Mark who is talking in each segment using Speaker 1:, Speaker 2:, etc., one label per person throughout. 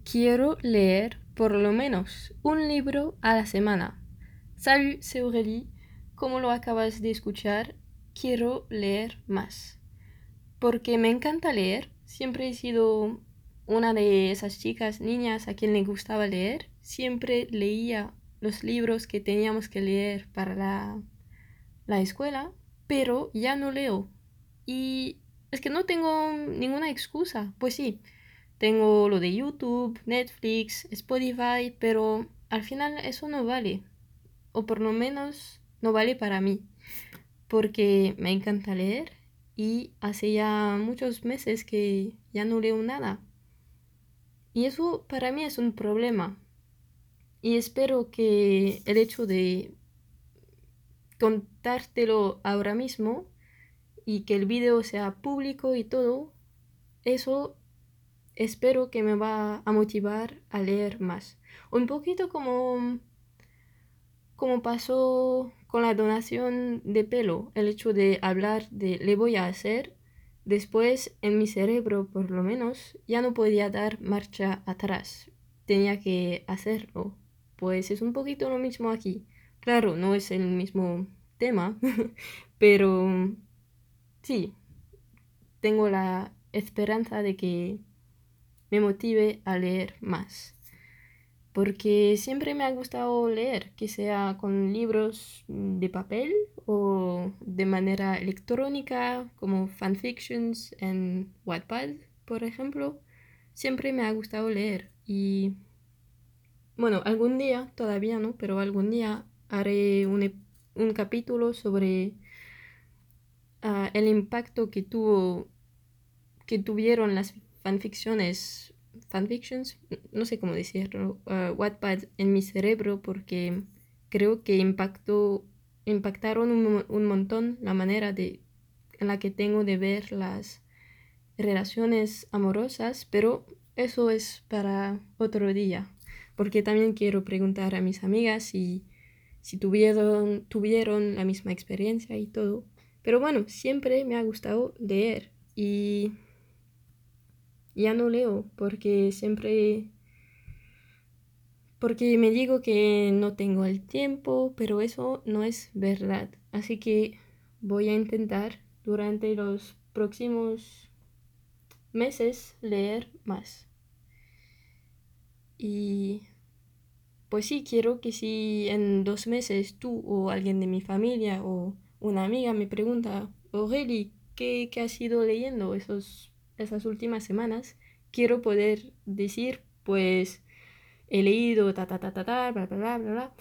Speaker 1: Quiero leer por lo menos un libro a la semana. Salut, c'est Aurélie. Como lo acabas de escuchar, quiero leer más. Porque me encanta leer. Siempre he sido una de esas chicas, niñas a quien le gustaba leer. Siempre leía los libros que teníamos que leer para la escuela, pero ya no leo. Y es que no tengo ninguna excusa. Pues sí, tengo lo de YouTube, Netflix, Spotify, pero al final eso no vale. O por lo menos no vale para mí. Porque me encanta leer y hace ya muchos meses que ya no leo nada. Y eso para mí es un problema. Y espero que el hecho de contártelo ahora mismo y que el video sea público y todo, eso espero que me va a motivar a leer más. Un poquito como pasó con la donación de pelo, el hecho de hablar de le voy a hacer, después en mi cerebro por lo menos ya no podía dar marcha atrás, tenía que hacerlo. Pues es un poquito lo mismo aquí. Claro, no es el mismo tema, pero sí, tengo la esperanza de que me motive a leer más. Porque siempre me ha gustado leer, que sea con libros de papel o de manera electrónica, como fanfictions en Wattpad, por ejemplo. Siempre me ha gustado leer y bueno, algún día, todavía no, pero algún día haré un capítulo sobre el impacto que tuvieron las fanfictions, no sé cómo decirlo, Wattpad en mi cerebro porque creo que impactaron un montón la manera en la que tengo de ver las relaciones amorosas, pero eso es para otro día, porque también quiero preguntar a mis amigas si tuvieron la misma experiencia y todo. Pero bueno, siempre me ha gustado leer y ya no leo porque me digo que no tengo el tiempo, pero eso no es verdad. Así que voy a intentar durante los próximos meses leer más. Y pues sí, quiero que si en 2 meses tú o alguien de mi familia o una amiga me pregunta, Aurélie, ¿qué has ido leyendo esas últimas semanas? Quiero poder decir, pues he leído ta ta ta ta ta, bla bla bla bla bla.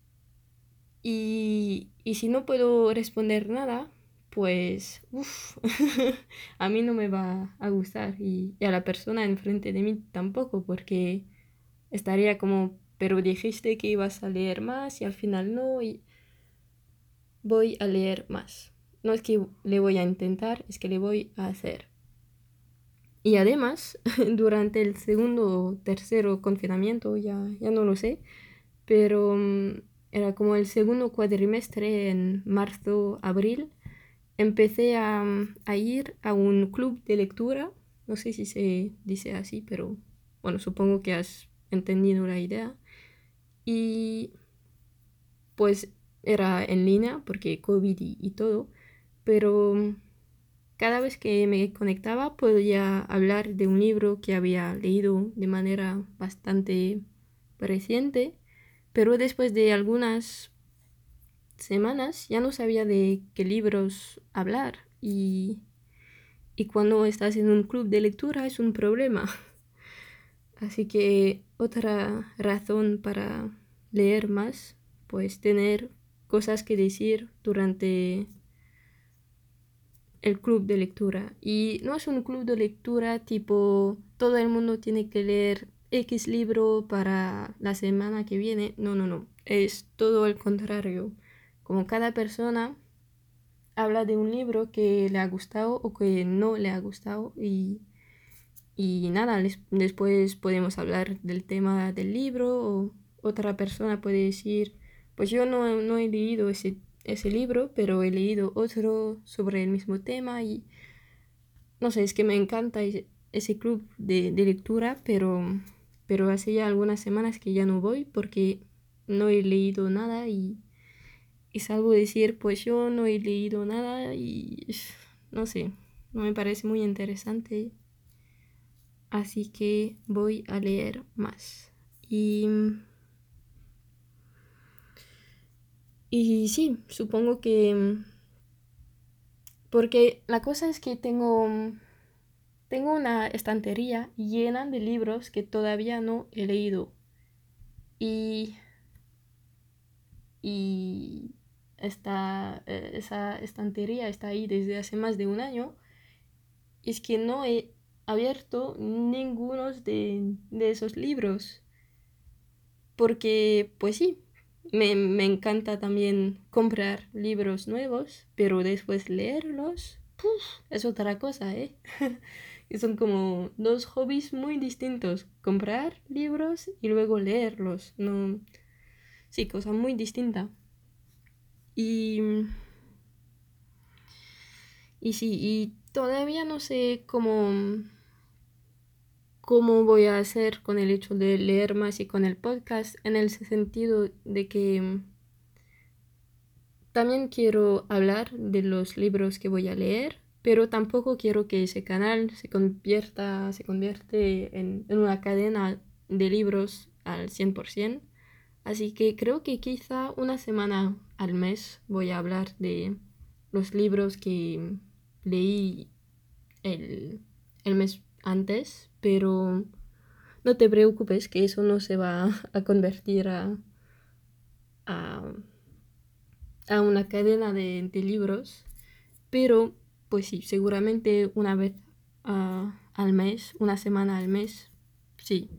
Speaker 1: Y si no puedo responder nada, pues uff, a mí no me va a gustar y a la persona enfrente de mí tampoco, porque estaría como, pero dijiste que ibas a leer más y al final no, y voy a leer más. No es que le voy a intentar, es que le voy a hacer. Y además, durante el segundo o tercero confinamiento, ya no lo sé, pero era como el segundo cuatrimestre en marzo, abril, empecé a ir a un club de lectura, no sé si se dice así, pero bueno, supongo que has entendido la idea. Y pues era en línea porque COVID y todo, pero cada vez que me conectaba podía hablar de un libro que había leído de manera bastante reciente, pero después de algunas semanas ya no sabía de qué libros hablar y cuando estás en un club de lectura es un problema. Así que otra razón para leer más, pues tener cosas que decir durante el club de lectura. Y no es un club de lectura tipo todo el mundo tiene que leer X libro para la semana que viene. No, no, no. Es todo el contrario. Como cada persona habla de un libro que le ha gustado o que no le ha gustado y nada, después podemos hablar del tema del libro o otra persona puede decir, pues yo no he leído ese libro, pero he leído otro sobre el mismo tema y no sé, es que me encanta ese club de lectura, pero pero hace ya algunas semanas que ya no voy porque no he leído nada y salvo decir, pues yo no he leído nada y no sé, no me parece muy interesante, así que voy a leer más. Y sí, supongo que... Porque la cosa es que tengo una estantería llena de libros que todavía no he leído. Y, y esa estantería está ahí desde hace más de un año. Y es que no he abierto ninguno de esos libros. Porque, pues sí, me encanta también comprar libros nuevos, pero después leerlos, ¡puf! Es otra cosa, ¿eh? Y son como dos hobbies muy distintos. Comprar libros y luego leerlos. No, sí, cosa muy distinta. Y, y sí, y todavía no sé cómo voy a hacer con el hecho de leer más y con el podcast, en el sentido de que también quiero hablar de los libros que voy a leer, pero tampoco quiero que ese canal se convierte en una cadena de libros al 100%. Así que creo que quizá una semana al mes voy a hablar de los libros que leí el, el mes antes, pero no te preocupes que eso no se va a convertir a a una cadena de libros, pero pues sí, seguramente una vez al mes, una semana al mes, sí.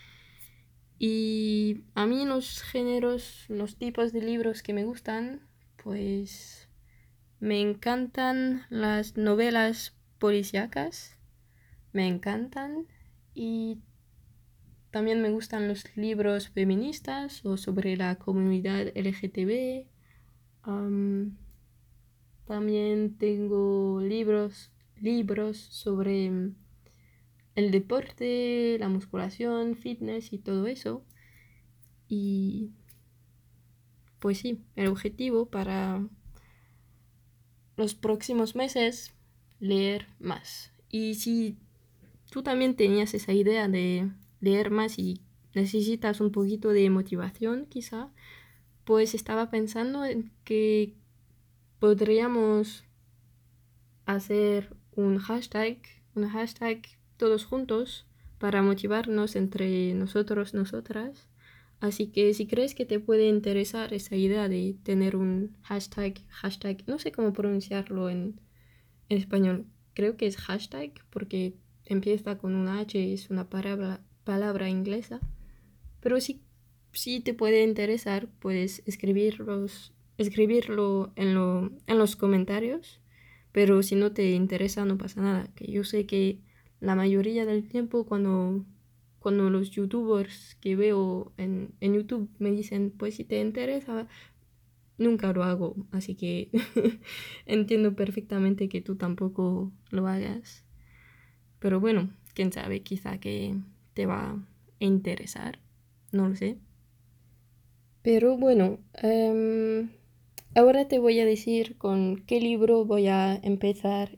Speaker 1: Y a mí los géneros, los tipos de libros que me gustan, pues me encantan las novelas policíacas, me encantan, y también me gustan los libros feministas o sobre la comunidad LGTB. Am, También tengo libros sobre el deporte, la musculación, fitness y todo eso. Y pues sí, el objetivo para los próximos meses, leer más. Y si tú también tenías esa idea de leer más y necesitas un poquito de motivación, quizá, pues estaba pensando en que podríamos hacer un hashtag todos juntos para motivarnos entre nosotros, nosotras. Así que si crees que te puede interesar esa idea de tener un hashtag, no sé cómo pronunciarlo en español, creo que es hashtag porque empieza con una H, es una palabra inglesa, pero si te puede interesar, puedes escribirlo en los comentarios, pero si no te interesa no pasa nada, que yo sé que la mayoría del tiempo cuando los youtubers que veo en YouTube me dicen, pues si te interesa, nunca lo hago, así que entiendo perfectamente que tú tampoco lo hagas, pero bueno, quién sabe, quizá que te va a interesar, no lo sé. Pero bueno, ahora te voy a decir con qué libro voy a empezar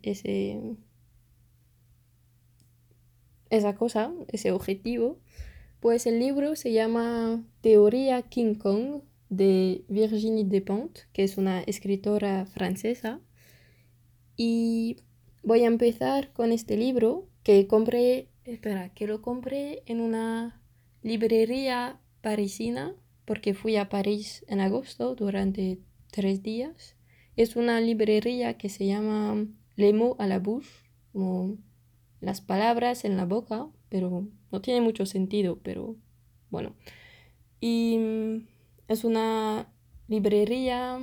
Speaker 1: ese objetivo. Pues el libro se llama Teoría King Kong de Virginie Despentes, que es una escritora francesa. Y voy a empezar con este libro que lo compré en una librería parisina porque fui a París en agosto durante 3 días. Es una librería que se llama Les mots à la bouche, como las palabras en la boca, pero no tiene mucho sentido, pero bueno. Y es una librería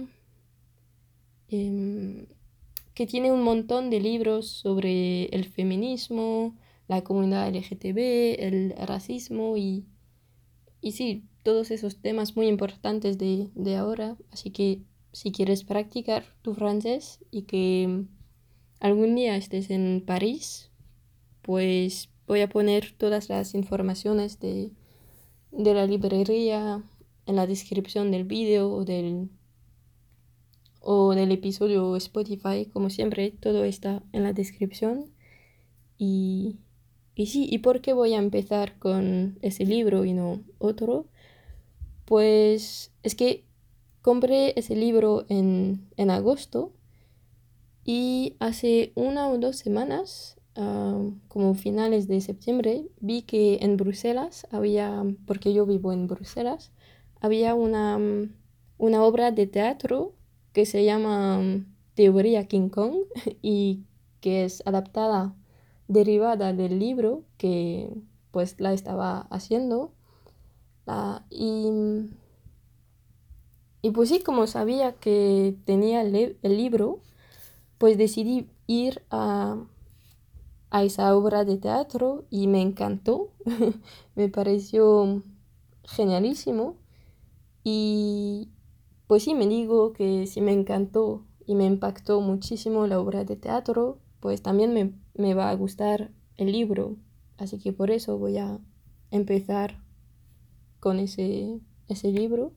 Speaker 1: em, que tiene un montón de libros sobre el feminismo, la comunidad LGTB, el racismo y sí, todos esos temas muy importantes de ahora. Así que si quieres practicar tu francés y que algún día estés en París, pues voy a poner todas las informaciones de la librería en la descripción del vídeo o del episodio Spotify, como siempre, todo está en la descripción. Y, y sí, ¿y por qué voy a empezar con ese libro y no otro? Pues es que compré ese libro en agosto y hace 1 o 2 semanas, como finales de septiembre, vi que en Bruselas había, porque yo vivo en Bruselas, había una obra de teatro que se llama Teoría King Kong y que es adaptada, derivada del libro que pues la estaba haciendo. La- y, y pues sí, como sabía que tenía el libro, pues decidí ir a esa obra de teatro y me encantó, me pareció genialísimo y pues sí, me digo que si me encantó y me impactó muchísimo la obra de teatro, pues también me va a gustar el libro, así que por eso voy a empezar con ese libro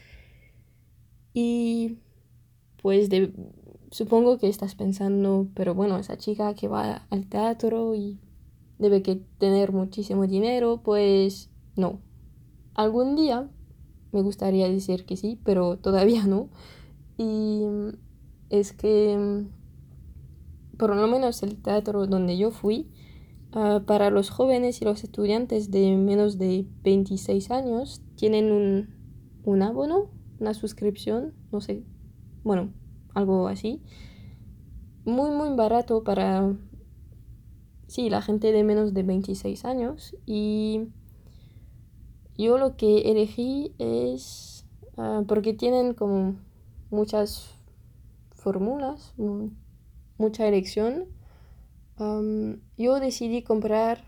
Speaker 1: y pues supongo que estás pensando, pero bueno, esa chica que va al teatro y debe que tener muchísimo dinero, pues no. Algún día me gustaría decir que sí, pero todavía no. Y es que por lo menos el teatro donde yo fui, para los jóvenes y los estudiantes de menos de 26 años, tienen un abono, una suscripción, no sé, bueno, algo así, muy, muy barato para, sí, la gente de menos de 26 años. Y yo lo que elegí es, porque tienen como muchas fórmulas, mucha elección, yo decidí comprar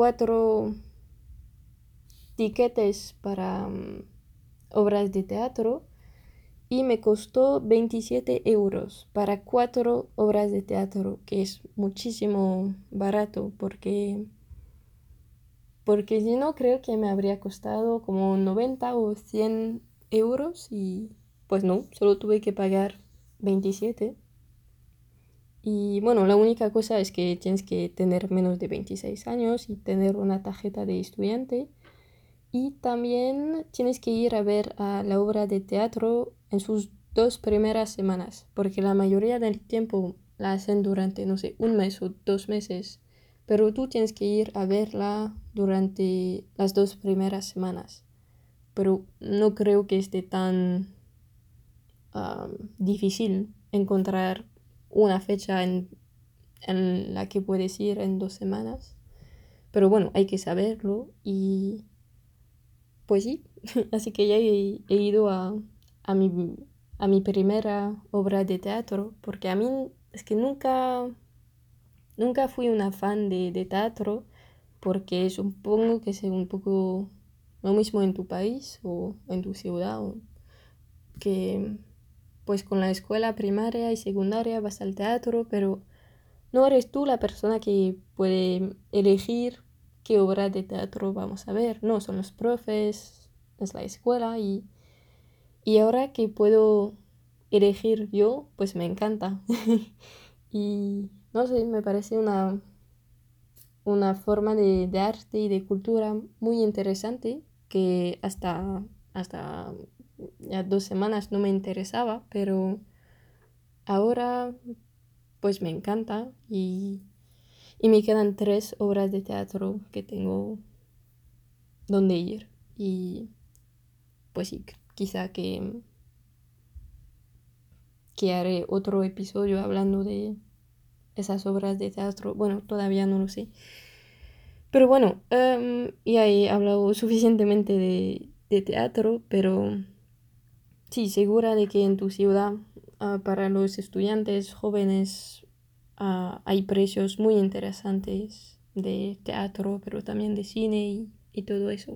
Speaker 1: 4 tiquetes para obras de teatro y me costó 27 euros para 4 obras de teatro, que es muchísimo barato porque si no creo que me habría costado como 90 o 100 euros y pues no, solo tuve que pagar 27. Y bueno, la única cosa es que tienes que tener menos de 26 años y tener una tarjeta de estudiante. Y también tienes que ir a ver a la obra de teatro en sus 2 primeras semanas, porque la mayoría del tiempo la hacen durante, no sé, 1 mes o 2 meses, pero tú tienes que ir a verla durante las 2 primeras semanas. Pero no creo que esté tan difícil encontrar una fecha en la que puedes ir en 2 semanas. Pero bueno, hay que saberlo y pues sí, así que ya he ido a mi, a mi primera obra de teatro, porque a mí es que nunca fui una fan de teatro, porque supongo que es un poco lo mismo en tu país o en tu ciudad, o que pues con la escuela primaria y secundaria vas al teatro, pero no eres tú la persona que puede elegir qué obra de teatro vamos a ver, no, son los profes, es la escuela y ahora que puedo elegir yo, pues me encanta. Y no sé, me parece una forma de arte y de cultura muy interesante que hasta ya 2 semanas no me interesaba, pero ahora pues me encanta y me quedan 3 obras de teatro que tengo donde ir. Y pues sí, quizá que haré otro episodio hablando de esas obras de teatro. Bueno, todavía no lo sé. Pero bueno, ya he hablado suficientemente de teatro, pero sí, segura de que en tu ciudad, para los estudiantes jóvenes, hay precios muy interesantes de teatro, pero también de cine y todo eso.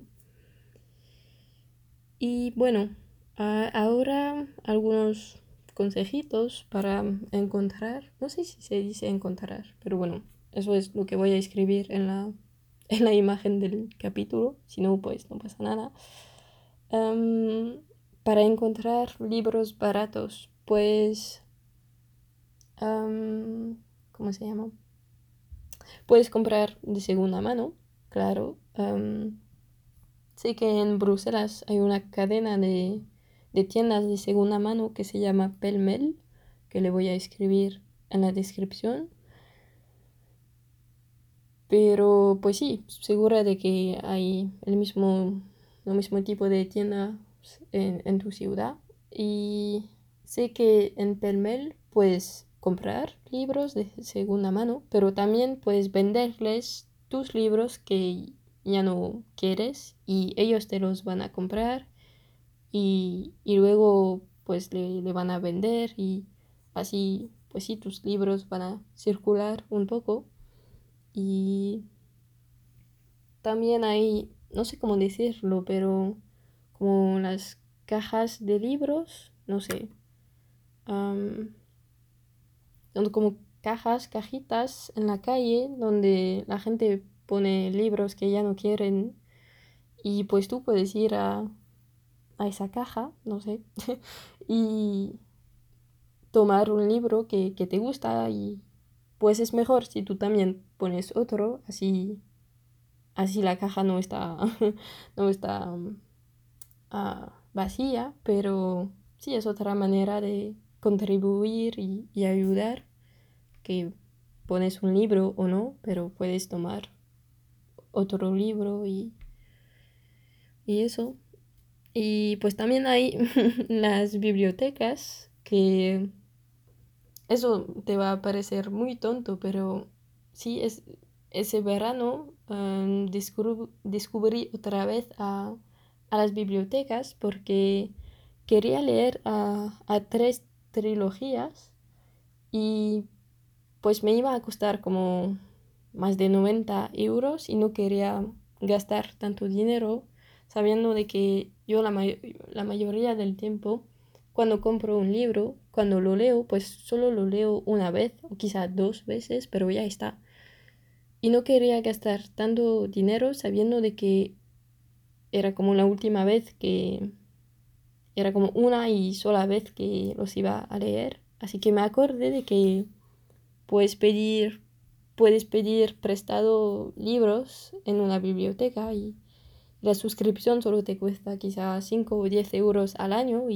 Speaker 1: Y bueno, ahora algunos consejitos para encontrar, no sé si se dice encontrar, pero bueno, eso es lo que voy a escribir en la imagen del capítulo, si no, pues no pasa nada. Para encontrar libros baratos, pues, ¿cómo se llama? Puedes comprar de segunda mano, claro. Sé que en Bruselas hay una cadena de tiendas de segunda mano que se llama Pelmel, que le voy a escribir en la descripción. Pero pues sí, segura de que hay el mismo tipo de tienda en tu ciudad. Y sé que en Pelmel puedes comprar libros de segunda mano, pero también puedes venderles tus libros que ya no quieres y ellos te los van a comprar y luego pues le van a vender y así pues sí, tus libros van a circular un poco. Y también hay, no sé cómo decirlo, pero como las cajas de libros, no sé, am, son como cajitas en la calle donde la gente pone libros que ya no quieren y pues tú puedes ir a esa caja, no sé, y tomar un libro que te gusta y pues es mejor si tú también pones otro, así la caja no está, no está vacía, pero sí es otra manera de contribuir y ayudar, que pones un libro o no, pero puedes tomar otro libro y eso. Y pues también hay las bibliotecas, que eso te va a parecer muy tonto, pero sí, ese verano descubrí otra vez a las bibliotecas porque quería leer a tres trilogías y pues me iba a costar como más de 90 € y no quería gastar tanto dinero sabiendo de que yo la mayoría del tiempo cuando compro un libro, cuando lo leo, pues solo lo leo una vez o quizá dos veces, pero ya está. Y no quería gastar tanto dinero sabiendo de que era como la última vez que era como una y sola vez que los iba a leer. Así que me acordé de que puedes pedir, puedes pedir prestado libros en una biblioteca y la suscripción solo te cuesta quizá 5 o 10 euros al año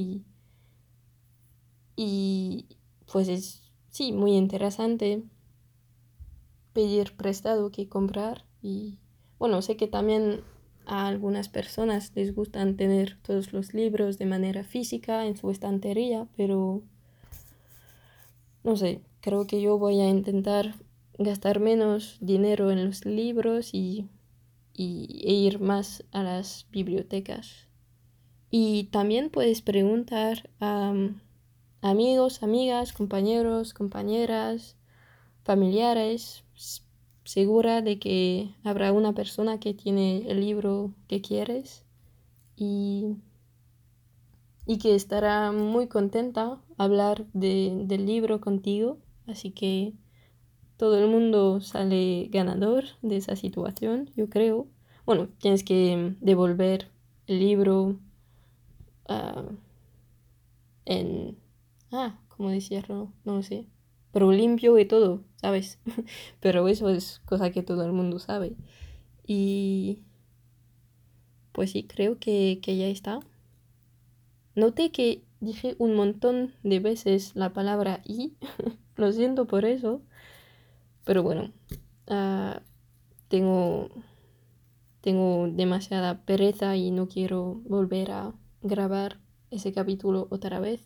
Speaker 1: y pues es, sí, muy interesante pedir prestado que comprar. Y bueno, sé que también a algunas personas les gustan tener todos los libros de manera física en su estantería, pero no sé, creo que yo voy a intentar gastar menos dinero en los libros e ir más a las bibliotecas. Y también puedes preguntar a amigos, amigas, compañeros, compañeras, familiares, segura de que habrá una persona que tiene el libro que quieres y, y que estará muy contenta hablar del libro contigo. Así que todo el mundo sale ganador de esa situación, yo creo. Bueno, tienes que devolver el libro ah, en... ¿cómo decirlo? No lo sé. Pero limpio y todo, ¿sabes? Pero eso es cosa que todo el mundo sabe. Y pues sí, creo que ya está. Noté que dije un montón de veces la palabra y. Lo siento por eso. Pero bueno, ah, tengo, tengo demasiada pereza y no quiero volver a grabar ese capítulo otra vez.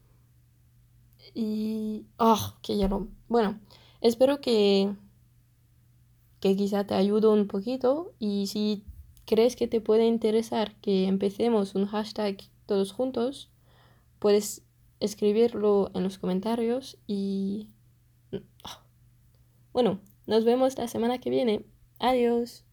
Speaker 1: Y... que ya no. Bueno, espero que quizá te ayude un poquito y si crees que te puede interesar que empecemos un hashtag todos juntos, puedes escribirlo en los comentarios y bueno, nos vemos la semana que viene. Adiós.